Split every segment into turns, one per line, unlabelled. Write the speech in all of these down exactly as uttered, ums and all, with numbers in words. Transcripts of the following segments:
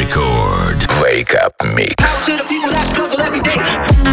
Record. Wake Up Mix.
To the people that struggle every day.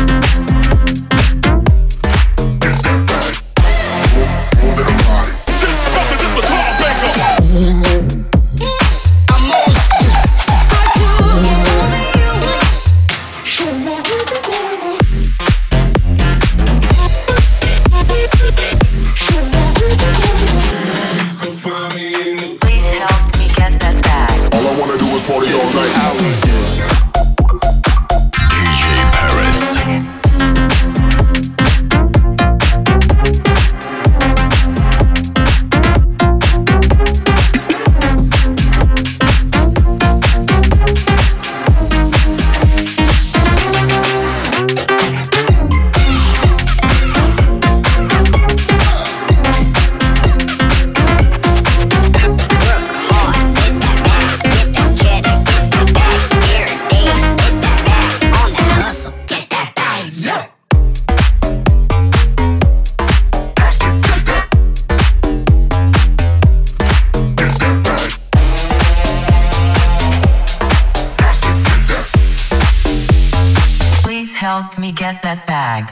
Help me get that bag.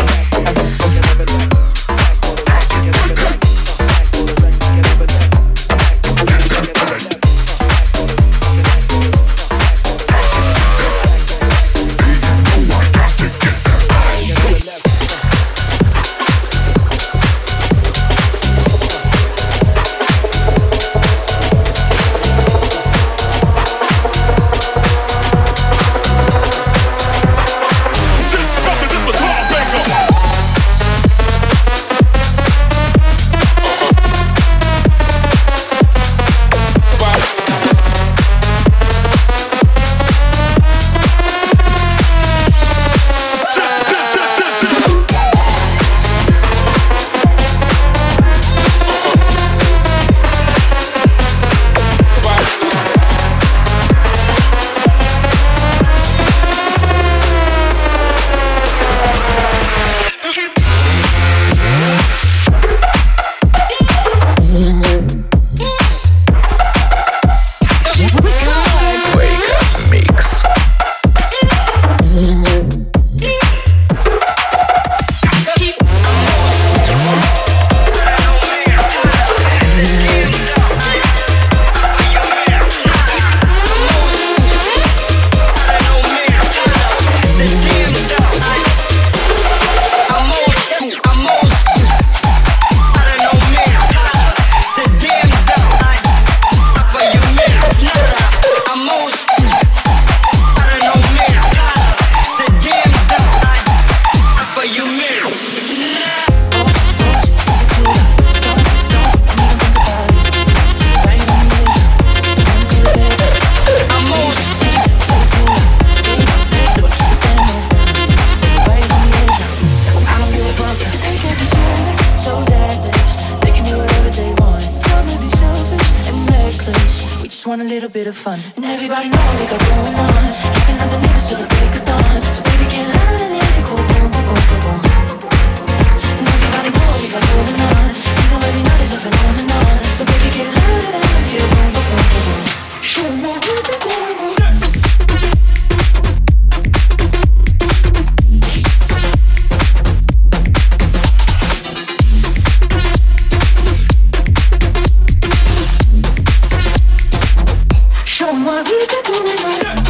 Want a little bit of fun, and everybody know what we got going on. Keeping up the niggas till the break of dawn. So baby, get out of the attic, boom, boom, boom, boom, boom. And everybody know what we got going on. You know every night is a phenomenon. So baby, get out of the attic, boom, boom, boom, boom, boom. Show me what we got going on. What we got going on.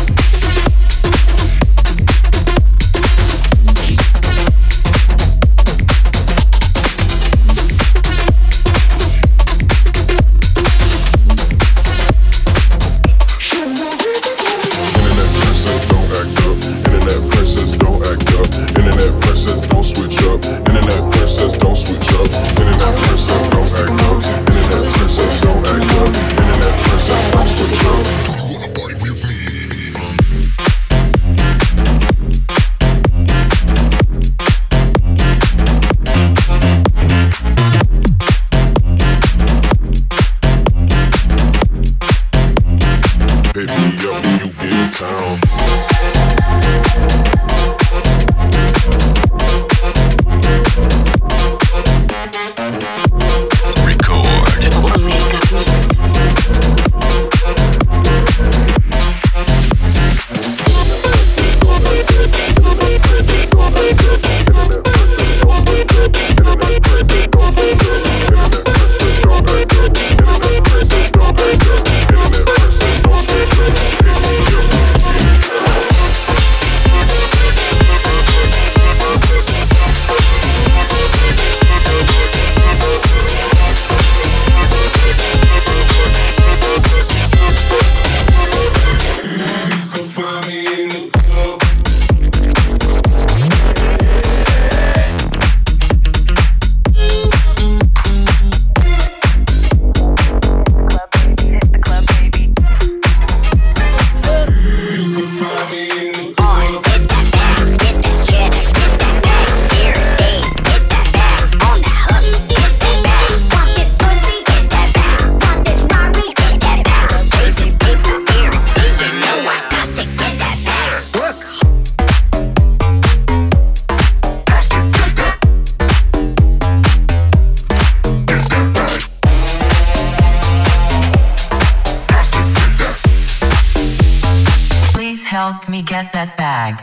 help me get that bag.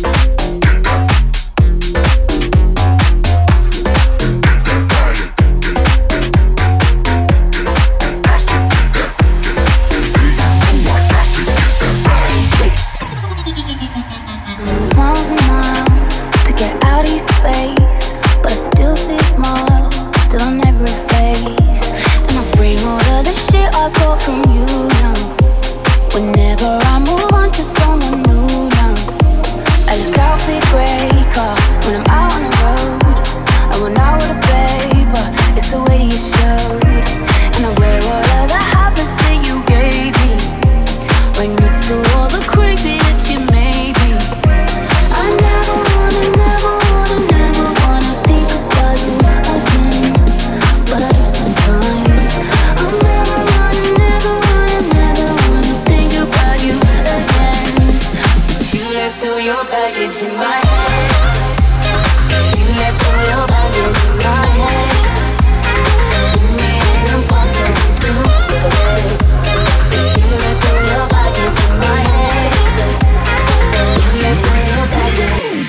Miles and miles to get out of your space, but I still see a smile, still on every face. And I bring all of the shit I got from you now. Whenever I move on to someone new now, I look out for your grey car when I'm out on the road. I went out with a paper, it's the way that you showed. And I wear all of the habits that you gave me, right next to all the crazy that you made me. I never wanna, never wanna, never wanna think about you again, but I do sometimes. I never wanna, never wanna, never wanna think about you again. You left all your baggage in my head. You left all your baggage in my head. You made it impossible to forget. You left all your baggage in my head. You left all your baggage.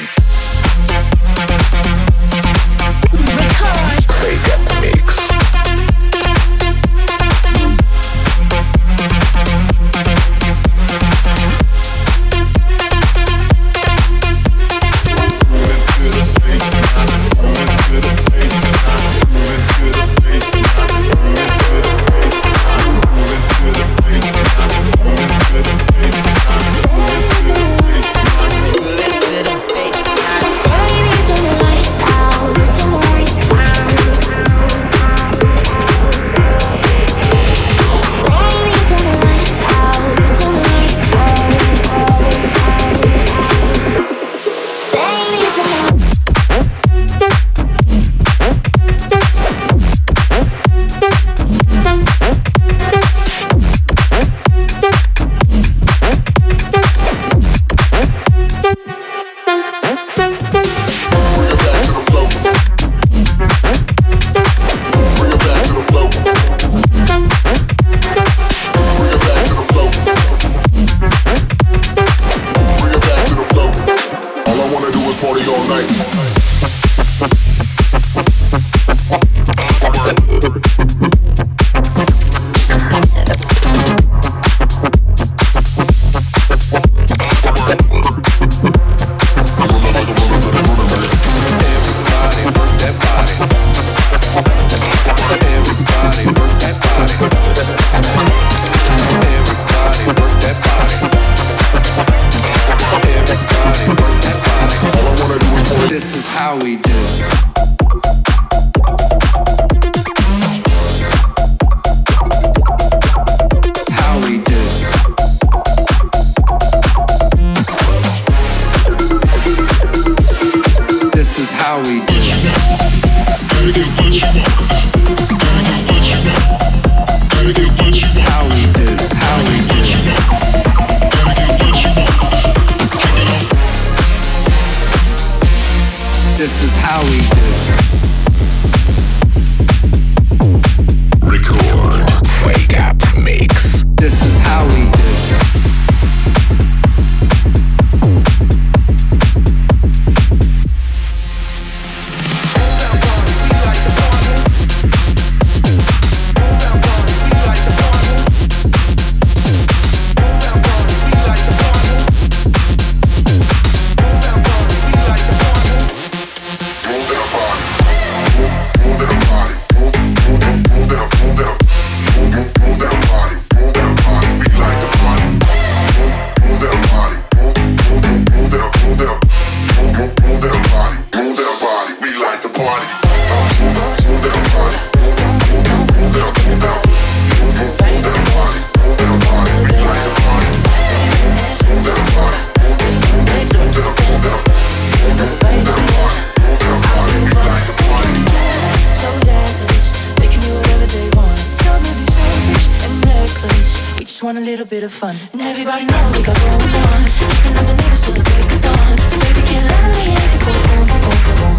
Record.
Wake Up Mix.
Want a little bit of fun, and everybody knows we got going on. Kicking up the neighbors till the break of dawn. So baby, get loud and yeah, go boom, boom, boom, boom.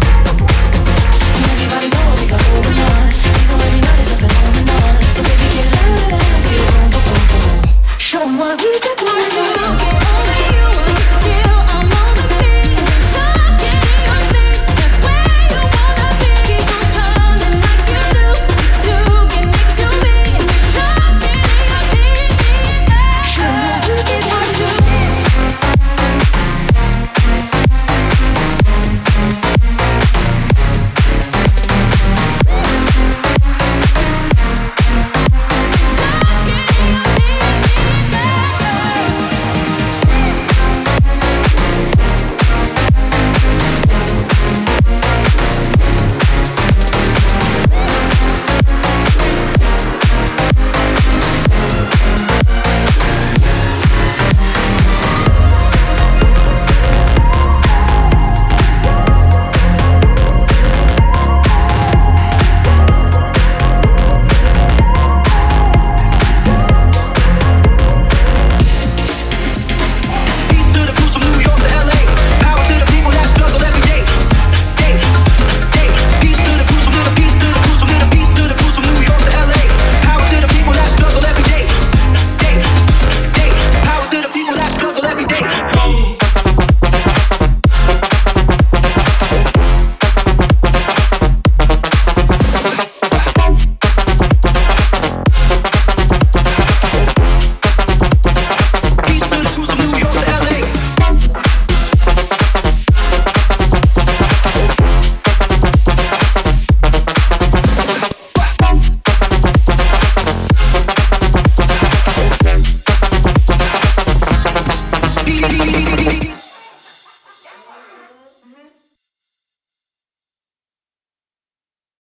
And everybody knows we got going on. You know every night is a phenomenon. So baby, get loud and yeah, boom, boom, boom, boom. Show 'em what we got going on.
Beep, beep, beep, beep, beep.